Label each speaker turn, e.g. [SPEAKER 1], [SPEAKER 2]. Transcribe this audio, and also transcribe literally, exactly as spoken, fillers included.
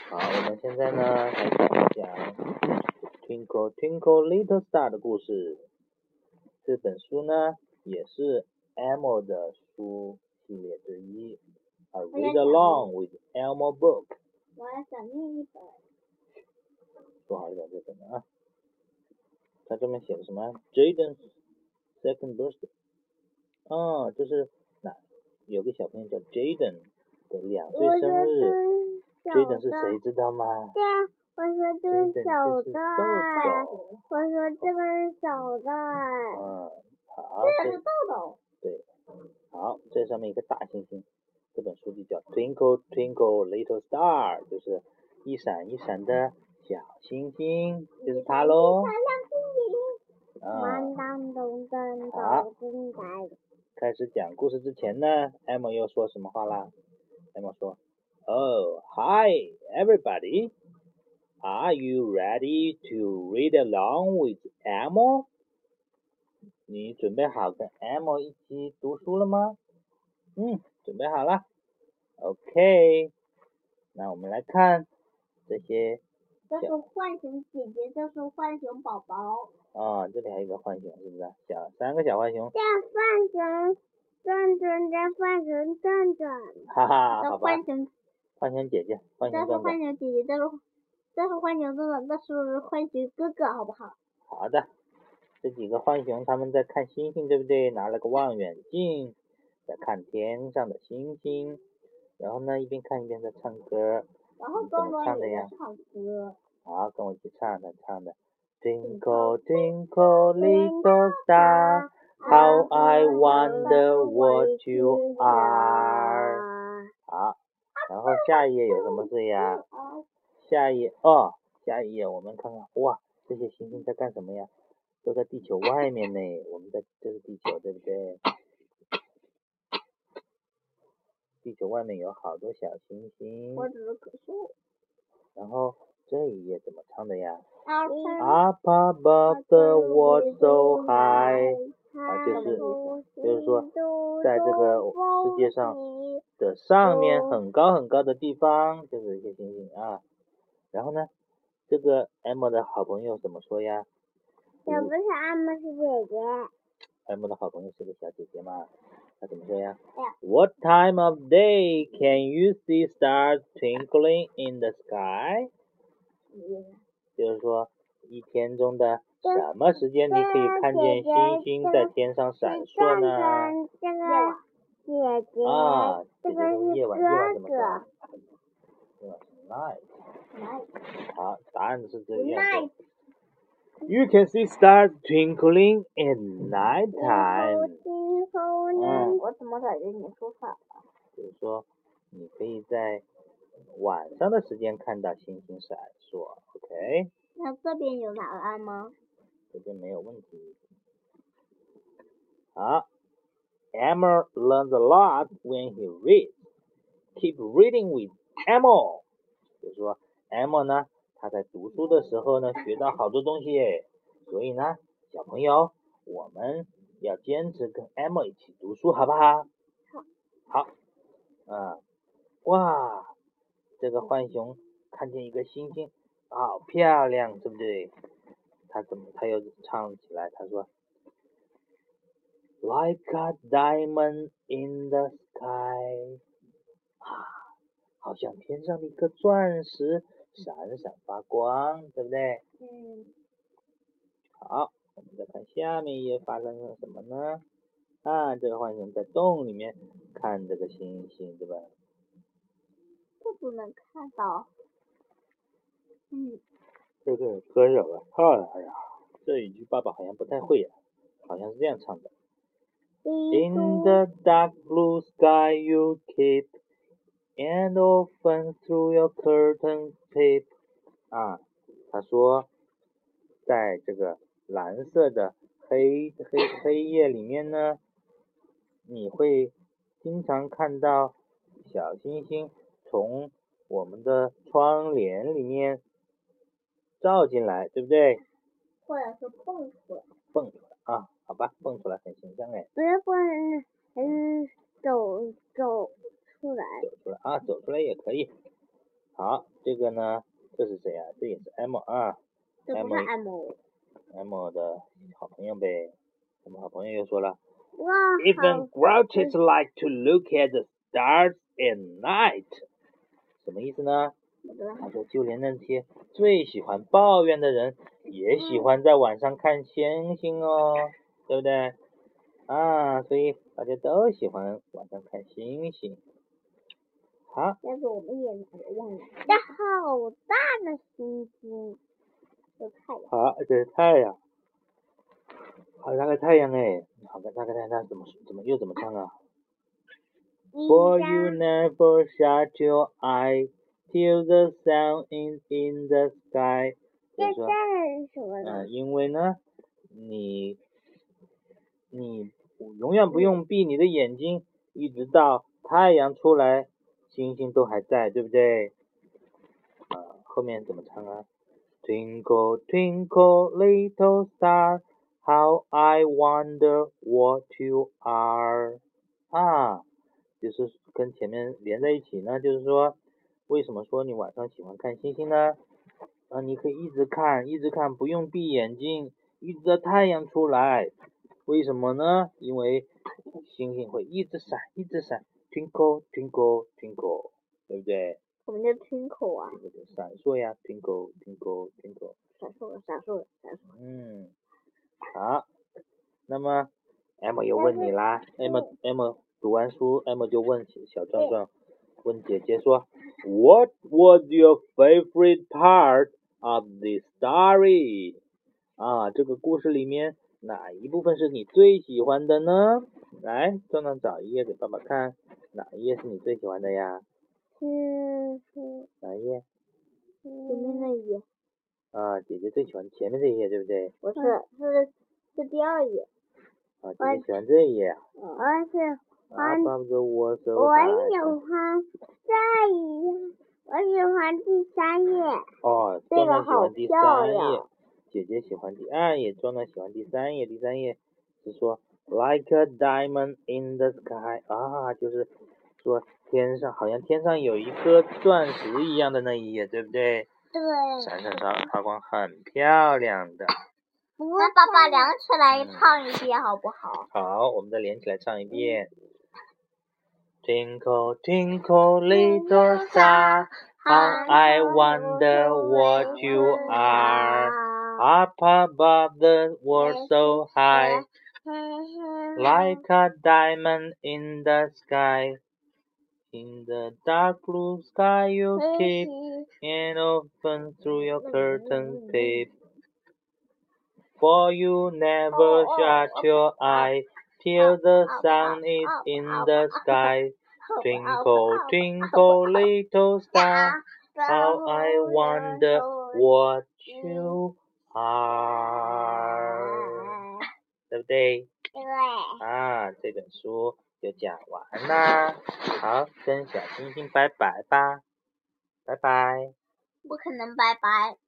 [SPEAKER 1] 好，我们现在呢开始讲 Twinkle Twinkle Little Star 的故事。这本书呢也是 Elmo 的书系列之一。A Read Along with Elmo Book。
[SPEAKER 2] 我要想念一本。
[SPEAKER 1] 说好一点这本啊。它这边写的什么 ？Jaden's second birthday。哦，这是哪？有个小朋友叫 Jaden 的两岁生日。Jaden 是谁知道吗？
[SPEAKER 2] 对啊，我说这个小的，我说这个是小的。
[SPEAKER 1] 嗯，好。
[SPEAKER 2] 这个是豆豆。
[SPEAKER 1] 对，好，这上面一个大星星，这本书就叫 Twinkle Twinkle Little Star， 就是一闪一闪的小星星，就是它喽。
[SPEAKER 2] 嗯，
[SPEAKER 1] 好，开始讲故事之前呢 ，Emma 又说什么话啦 ？Emma 说 ，Oh, hi everybody, are you ready to read along with Elmo？ 你准备好跟 Elmo 一起读书了吗？嗯，准备好了。OK， 那我们来看这些。
[SPEAKER 2] 这是浣熊姐姐，这是浣熊宝宝。
[SPEAKER 1] 啊，这里还有一个浣熊，是不是？小三个小浣熊。
[SPEAKER 2] 这浣熊转转，这浣熊转转。
[SPEAKER 1] 哈哈，好吧。
[SPEAKER 2] 浣熊，
[SPEAKER 1] 浣熊姐姐，浣熊转转。
[SPEAKER 2] 这是浣熊姐姐，这是这是浣熊转转，这是浣熊哥哥，好不好？
[SPEAKER 1] 好的，这几个浣熊他们在看星星，对不对？拿了个望远镜，在看天上的星星，然后呢一边看一边在唱歌。
[SPEAKER 2] 然后
[SPEAKER 1] 怎么唱的呀？
[SPEAKER 2] 唱歌。
[SPEAKER 1] 好，跟我一起唱，他唱的。Twinkle twinkle little star, how I wonder what you are。好，然后下一页有什么字呀？下一页哦，下一页我们看看，哇，这些星星在干什么呀？都在地球外面呢，我们在这是地球，对不对？地球外面有好多小星星。
[SPEAKER 2] 我只是可笑。
[SPEAKER 1] 然后这一页怎么唱的呀
[SPEAKER 2] ？Up
[SPEAKER 1] above the world so high， 啊，就是就是说，在这个世界上的上面很高很高的地方，就是一些星星啊。然后呢，这个 Emma 的好朋友怎么说呀？
[SPEAKER 2] 也不是 Emma 是姐姐。
[SPEAKER 1] Emma 的好朋友是个小姐姐嘛，她怎么说呀 ？What time of day can you see stars twinkling in the sky？就是说，一天中的什么时间你可以看见星星在天上闪烁呢？
[SPEAKER 2] 这个姐姐，
[SPEAKER 1] 啊，
[SPEAKER 2] 这个是
[SPEAKER 1] 夜晚，夜晚怎么说？
[SPEAKER 2] 哥哥。
[SPEAKER 1] Night。好，答案是这个样子。You can see stars twinkling in night time。
[SPEAKER 2] 嗯，我怎么感觉你说反了？
[SPEAKER 1] 就是说，你可以在晚上的时间看到星星闪烁 ，OK？
[SPEAKER 2] 那这边有答案吗？
[SPEAKER 1] 这边没有问题。好 ，Elmo learns a lot when he reads. Keep reading with Elmo。就是说 ，Elmo 呢，他在读书的时候呢，学到好多东西耶。所以呢，小朋友，我们要坚持跟 Elmo 一起读书，好不好？
[SPEAKER 2] 好。
[SPEAKER 1] 好。嗯，哇，这个浣熊看见一个星星，好漂亮，对不对？他怎么他又唱起来？他说 ，Like a diamond in the sky， 啊，好像天上的一颗钻石，闪闪发光，对不对？
[SPEAKER 2] 嗯。
[SPEAKER 1] 好，我们再看下面一页发生了什么呢？啊，这个浣熊在洞里面看这个星星，对吧？
[SPEAKER 2] 这不能看到。嗯。
[SPEAKER 1] 这个歌有了，哎呀，这一句爸爸好像不太会呀、啊，好像是这样唱的。In the dark blue sky you keep, and often through your curtains peep。啊，他说，在这个蓝色的黑黑黑夜里面呢，你会经常看到小星星从我们的窗帘里面照进来，对不对？
[SPEAKER 2] 或者是蹦出来。
[SPEAKER 1] 蹦出来啊，好吧，蹦出来很形象哎。
[SPEAKER 2] 不是蹦，嗯，走走出来。
[SPEAKER 1] 走出来啊，走出来也可以。 好，这个呢，这是谁啊？这也是 M 啊。
[SPEAKER 2] 这不是 M。
[SPEAKER 1] M 的好朋友呗。我们好朋友又说了。
[SPEAKER 2] 哇，
[SPEAKER 1] Even grouches like to look at the stars at night。什么意思呢？他说，就连那些最喜欢抱怨的人，也喜欢在晚上看星星哦，对不对？啊，所以大家都喜欢晚上看星星。好。
[SPEAKER 2] 但是我们也拿着忘了。这好大的星星，有太阳。
[SPEAKER 1] 好，这是太阳。好大个太阳哎！好大个太阳，它怎么怎么又怎么唱啊 ？For you never shut your eye till the sun is in the sky。
[SPEAKER 2] 这这是什么呢？
[SPEAKER 1] 嗯，因为呢，你你永远不用闭你的眼睛，一直到太阳出来，星星都还在，对不对？啊，后面怎么唱啊 ？Twinkle twinkle little star。How I wonder what you are 啊，就是跟前面连在一起呢，就是说，为什么说你晚上喜欢看星星呢？啊，你可以一直看，一直看，不用闭眼睛，一直到太阳出来。为什么呢？因为星星会一直闪，一直闪 ，twinkle twinkle twinkle， 对不对？
[SPEAKER 2] 我们叫 twinkle 啊。
[SPEAKER 1] 闪烁呀 ，twinkle twinkle twinkle。
[SPEAKER 2] 闪烁，闪烁，闪烁。
[SPEAKER 1] 嗯。好，那么 M 又问你啦 ，M M 读完书 ，M 就问小壮壮，问姐姐说 ，What was your favorite part of the story？ 啊，这个故事里面哪一部分是你最喜欢的呢？来，壮壮找一页给爸爸看，哪一页是你最喜欢的呀？
[SPEAKER 2] 嗯是。
[SPEAKER 1] 哪一页？
[SPEAKER 2] 前面那一页。
[SPEAKER 1] 啊，姐姐最喜欢前面这一页，对不对？
[SPEAKER 2] 不是，是是第二页。
[SPEAKER 1] 啊，姐姐喜欢这一页啊。
[SPEAKER 2] 我喜欢。
[SPEAKER 1] 我喜欢
[SPEAKER 2] 这一页，我喜欢第三页。
[SPEAKER 1] 哦，壮壮喜欢第三页，姐姐喜欢第二页，壮壮喜欢第三页。第三页是说 like a diamond in the sky 啊，就是说天上好像天上有一颗钻石一样的那一页，对不对？
[SPEAKER 2] 对。
[SPEAKER 1] 闪闪发发光，很漂亮的。
[SPEAKER 2] 那爸爸连起来唱一遍好不好？
[SPEAKER 1] 好，我们再连起来唱一遍。Twinkle, twinkle, little star, how I wonder what you are. Up above the world so high, like a diamond in the sky. In the dark blue sky you keep, and often through your curtain peep. For you never shut your eye till the sun is in the sky. Twinkle, twinkle, little star, how I wonder what you are。对不对？
[SPEAKER 2] 对。
[SPEAKER 1] 啊，这本书就讲完啦。好，跟小星星拜拜吧，拜拜。
[SPEAKER 2] 不可能拜拜。